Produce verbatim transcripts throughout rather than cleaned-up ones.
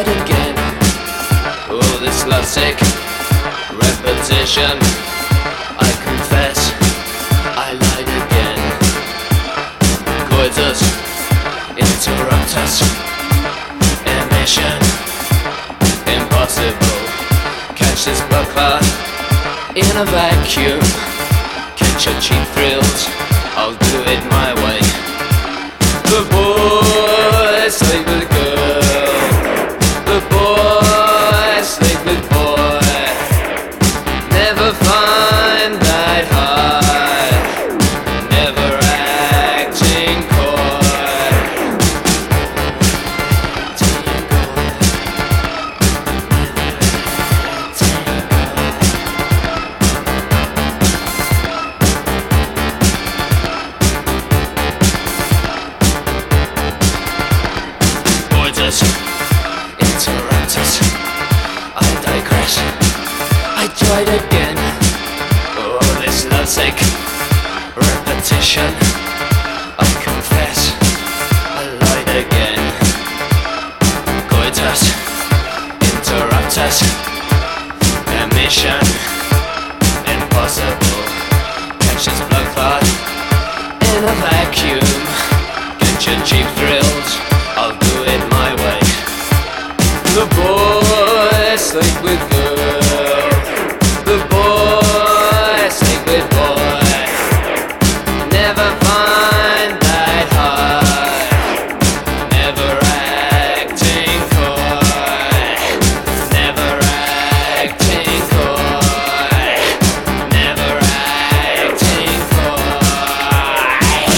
lied again. Oh, this lovesick repetition. I confess, I lied again. Coitus interruptus. Emission impossible. Catch this blood clot in a vacuum. Catch your cheap thrills, I'll do it my way. The boy sleep with girl. The boy sleep with boy. Never find that high. Never acting coy. Coitus interruptus. I digress. I tried again. Oh, this lovesick repetition. I confess, I lied again. Coitus interruptus. Emission impossible. Catch this blood clot in a vacuum. Get your cheap thrills, I'll do it my way. The boy sleep with girl. The boy sleep with boy. Never find that high. Never acting coy. Never acting coy. Never acting coy.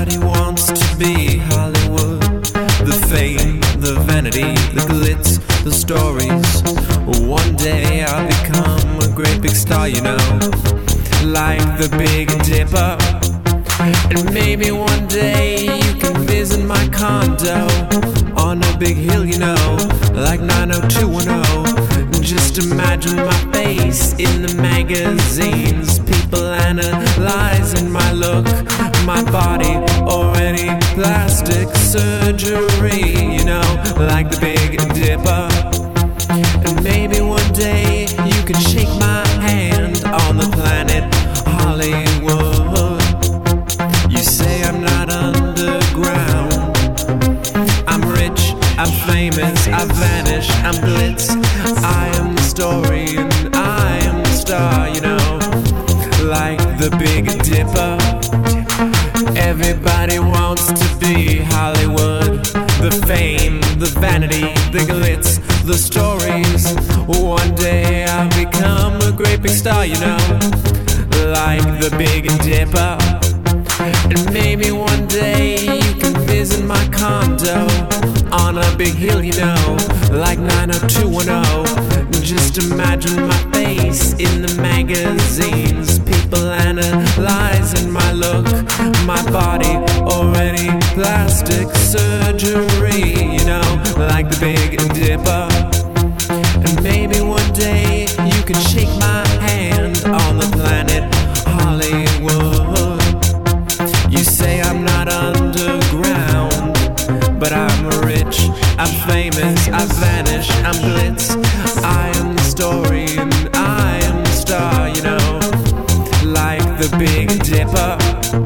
Everybody wants to be Hollywood. The fame, the vanity, the glitz, the stories. One day I'll become a great big star, you know, like the Big Dipper. And maybe one day you can visit my condo on a big hill, you know, like nine oh two one oh. Just imagine my face in the magazines, people analyzing my look, my body, or any plastic surgery, you know, like the Big Dipper. And maybe one day you can shake my hand on the planet Hollywood. You say I'm not underground, I'm rich, I'm famous, I vanish, I'm glitz, I am the story and I am the star, you know, like the Big Dipper. Everybody wants to be Hollywood. The fame, the vanity, the glitz, the stories. One day I'll become a great big star, you know, like the Big Dipper. And maybe one day you can visit my condo on a big hill, you know, like nine oh two one oh. Just imagine my face in the magazines, people analyzing my look, my body, or any plastic surgery, you know, like the Big Dipper. And maybe one day you can shake my hand on the planet Hollywood. You say I'm not underground, but I'm rich, I'm famous, I vanish, I'm glitz, I am the story and I am the star, you know, like the Big Dipper.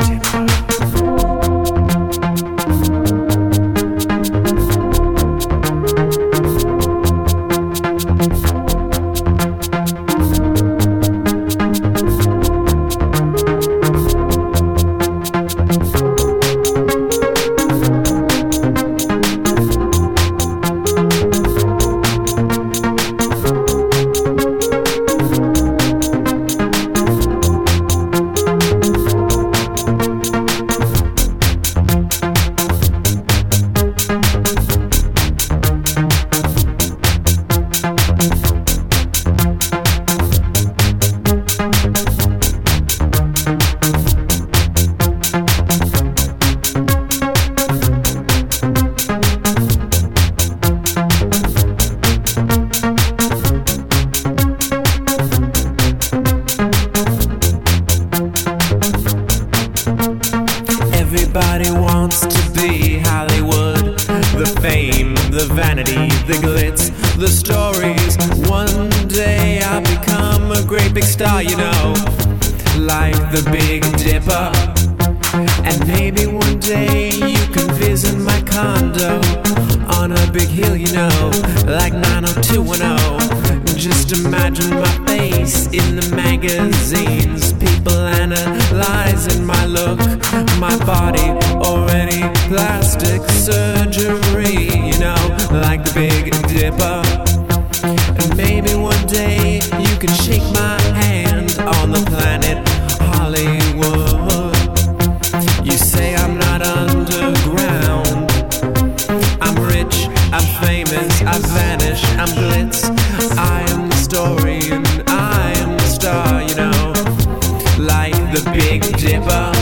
Everybody wants to be Hollywood. The fame, the vanity, the glitz, the stories. One day I'll become a great big star, you know, like the Big Dipper. And maybe one day you can visit my condo on a big hill, you know, like nine oh two one oh. Just imagine my face in the magazines, people analyzing my look, my body, or any plastic surgery, you know, like the Big Dipper. And maybe one day you can shake my hand on the planet Hollywood. You say I'm not underground, I'm rich, I'm famous, I vanish, I'm glitz, I am the story and I am the star, you know, like the Big Dipper.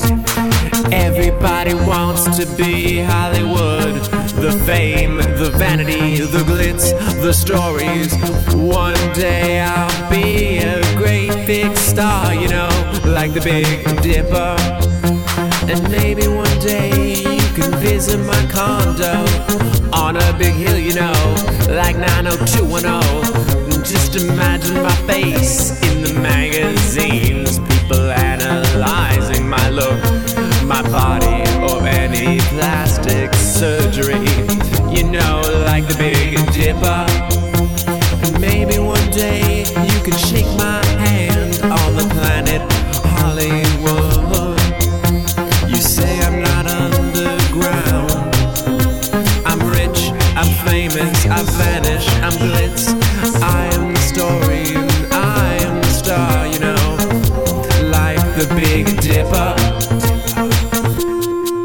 Everybody wants to be Hollywood. The fame, the vanity, the glitz, the stories. One day I'll be a great big star, you know, like the Big Dipper. And maybe one day you can visit my condo on a big hill, you know, like nine oh two one oh. Just imagine my face in the magazines, people analyzing my look, my body, or any plastic surgery, you know, like the Big Dipper. And maybe one day you can shake my hand on the planet Hollywood. You say I'm not underground, I'm rich, I'm famous, I vanish, I'm glitz, I am the story and I am the star, you know, like the Big Dipper.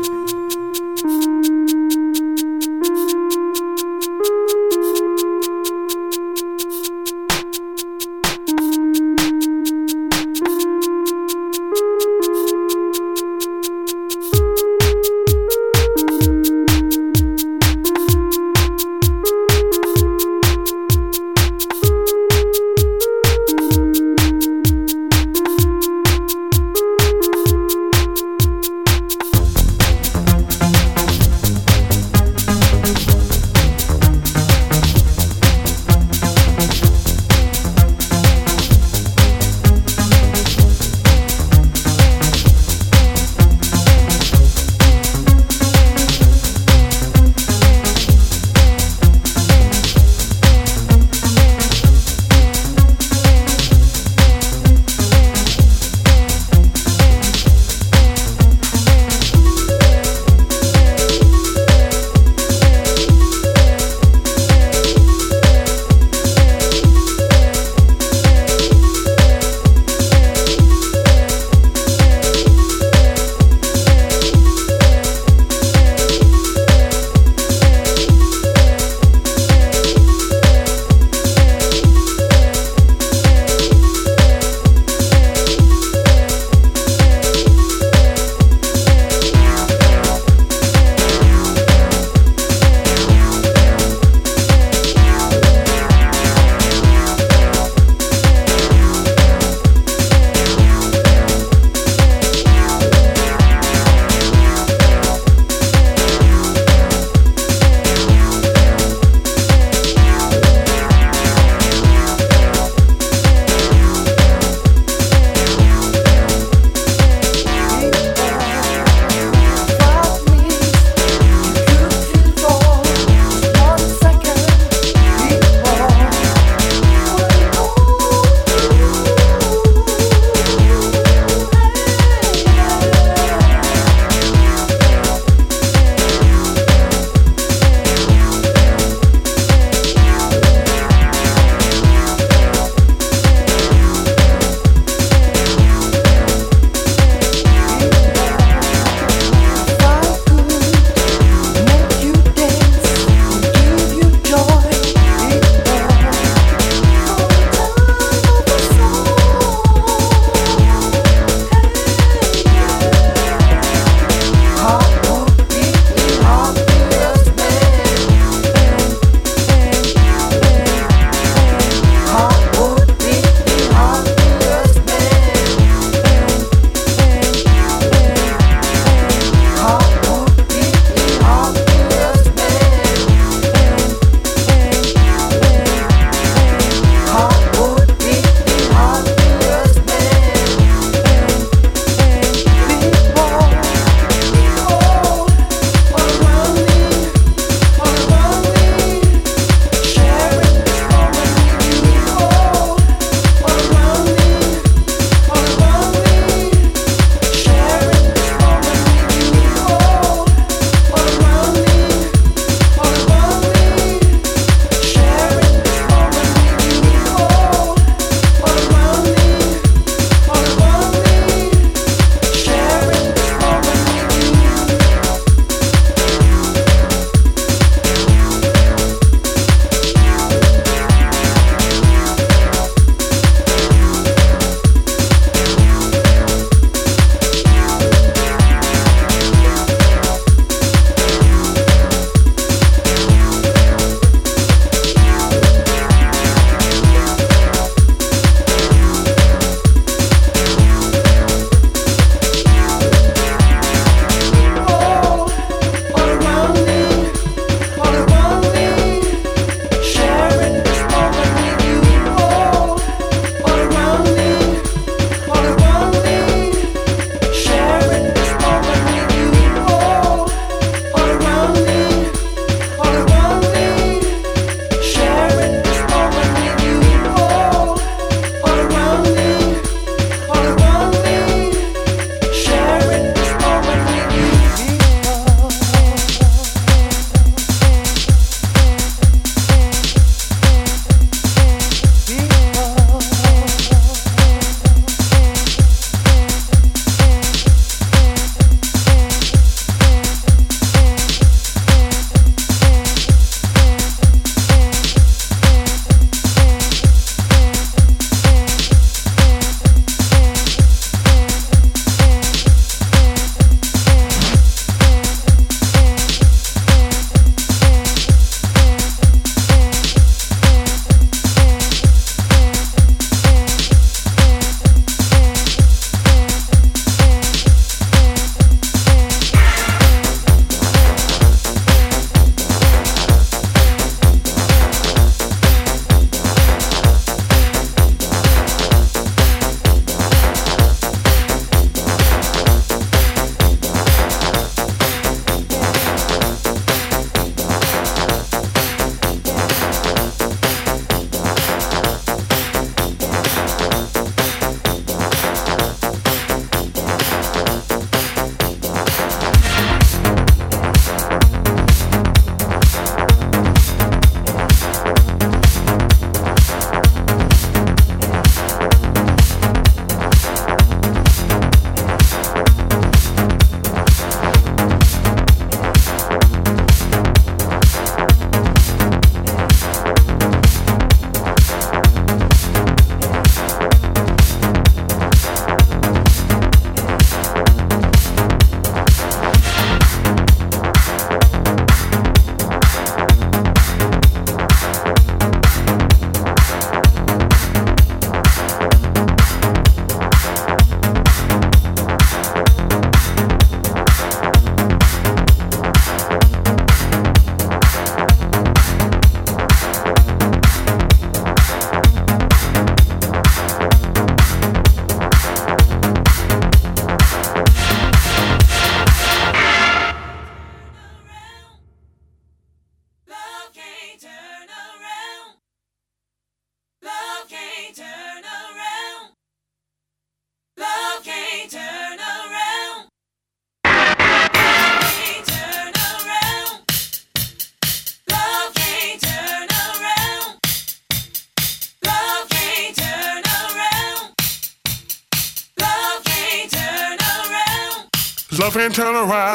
Love can turn around.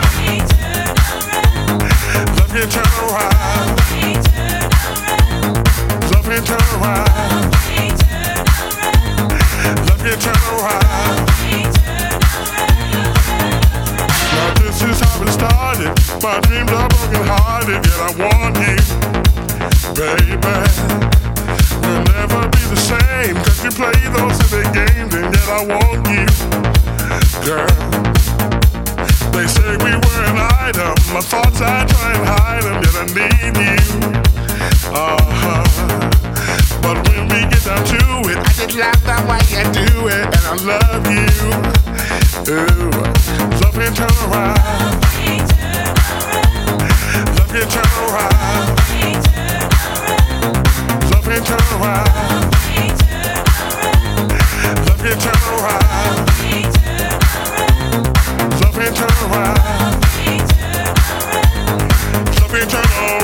Love can turn around. Love can turn around. Love can turn around. Now this is how it started. My dreams are broken hearted, yet I want you, baby. We'll never be the same, cause you play those silly games, and yet I want you, girl. They say we were an item. My thoughts, I try and hide them, yet I need you. Uh-huh. But when we get down to it, I just love the way you do it, and I love you. Ooh, love can turn around. Love can turn around. Love can turn around. Love can turn around. Love can turn around. Love can turn around.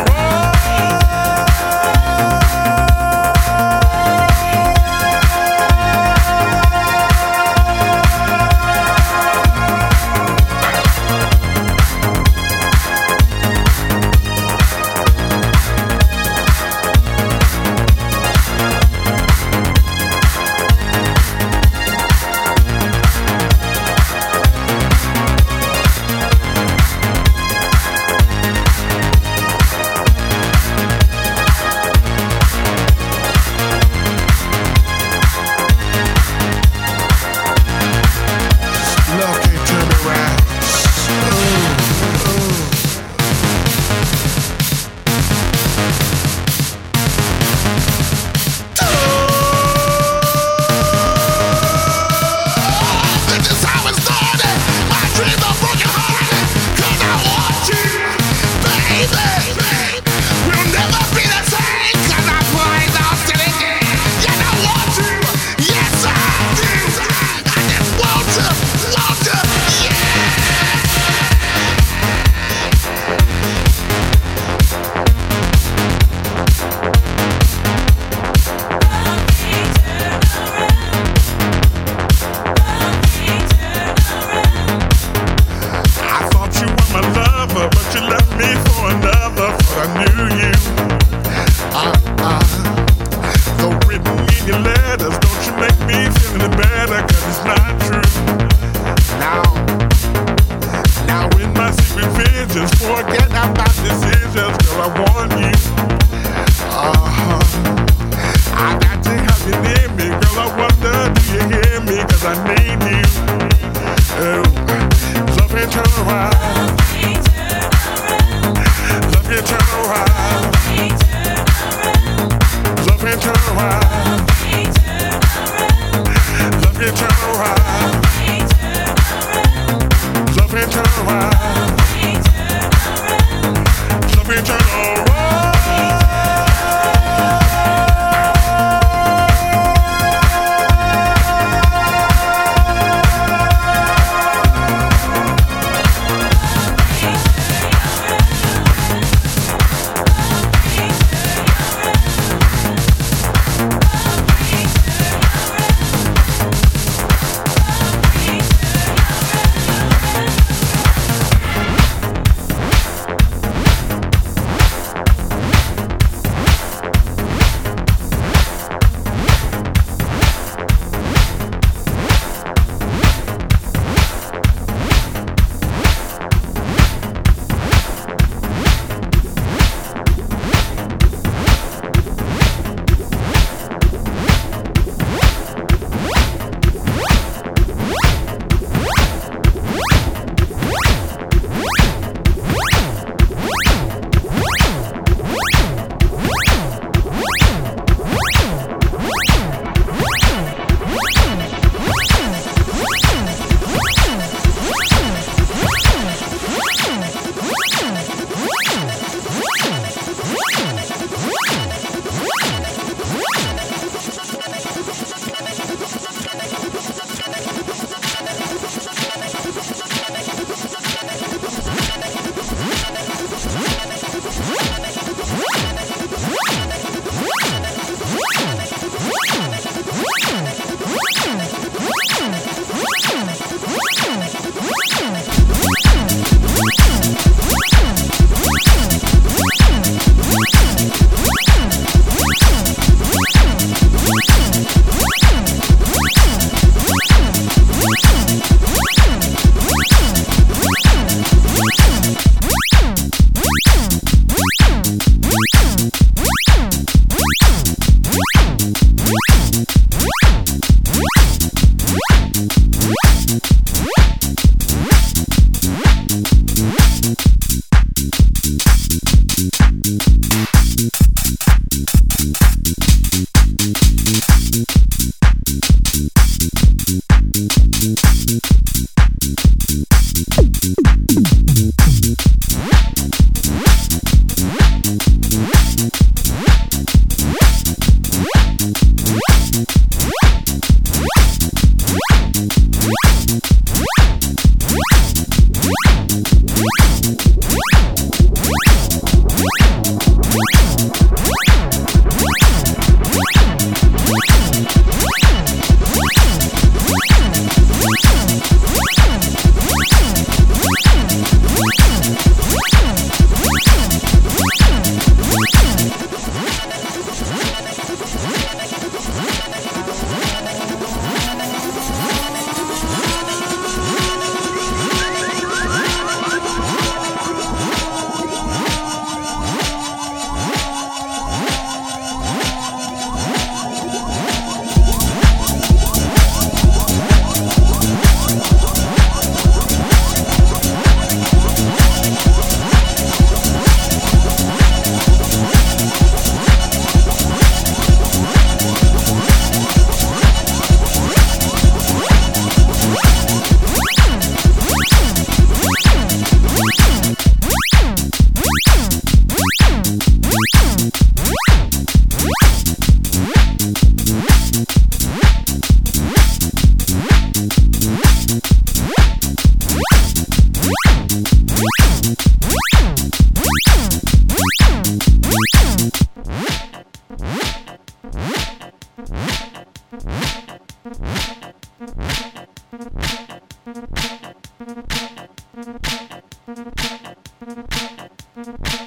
Thank you.